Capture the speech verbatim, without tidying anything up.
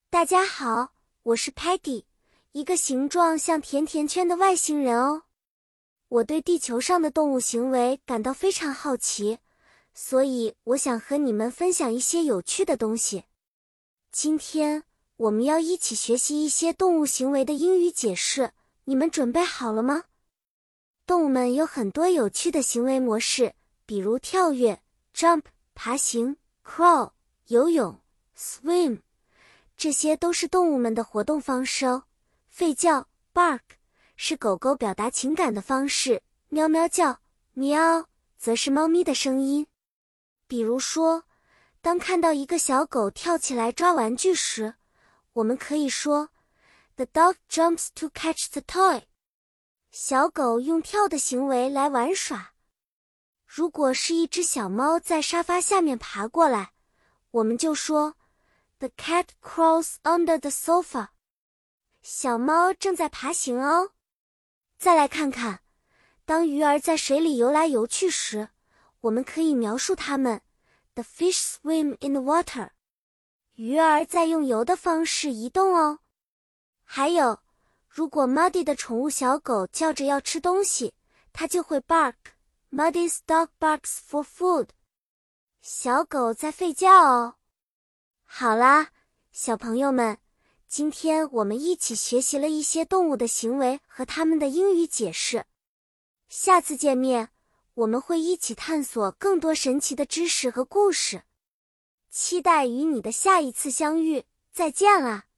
大家好，我是 Patty， 一个形状像甜甜圈的外星人哦。我对地球上的动物行为感到非常好奇，所以我想和你们分享一些有趣的东西。今天我们要一起学习一些动物行为的英语解释，你们准备好了吗？动物们有很多有趣的行为模式，比如跳跃 jump、爬行 crawl、游泳 swim， 这些都是动物们的活动方式哦。吠叫 bark 是狗狗表达情感的方式，喵喵叫 meow 则是猫咪的声音。比如说，当看到一个小狗跳起来抓玩具时，我们可以说 The dog jumps to catch the toy。小狗用跳的行为来玩耍。如果是一只小猫在沙发下面爬过来，我们就说 The cat crawls under the sofa。小猫正在爬行哦。再来看看，当鱼儿在水里游来游去时，我们可以描述它们 The fish swim in the water。鱼儿在用游的方式移动哦。还有，如果 Muddy 的宠物小狗叫着要吃东西，它就会 bark。Muddy's dog barks for food。小狗在吠叫哦。好啦，小朋友们，今天我们一起学习了一些动物的行为和它们的英语解释。下次见面，我们会一起探索更多神奇的知识和故事。期待与你的下一次相遇，再见啦！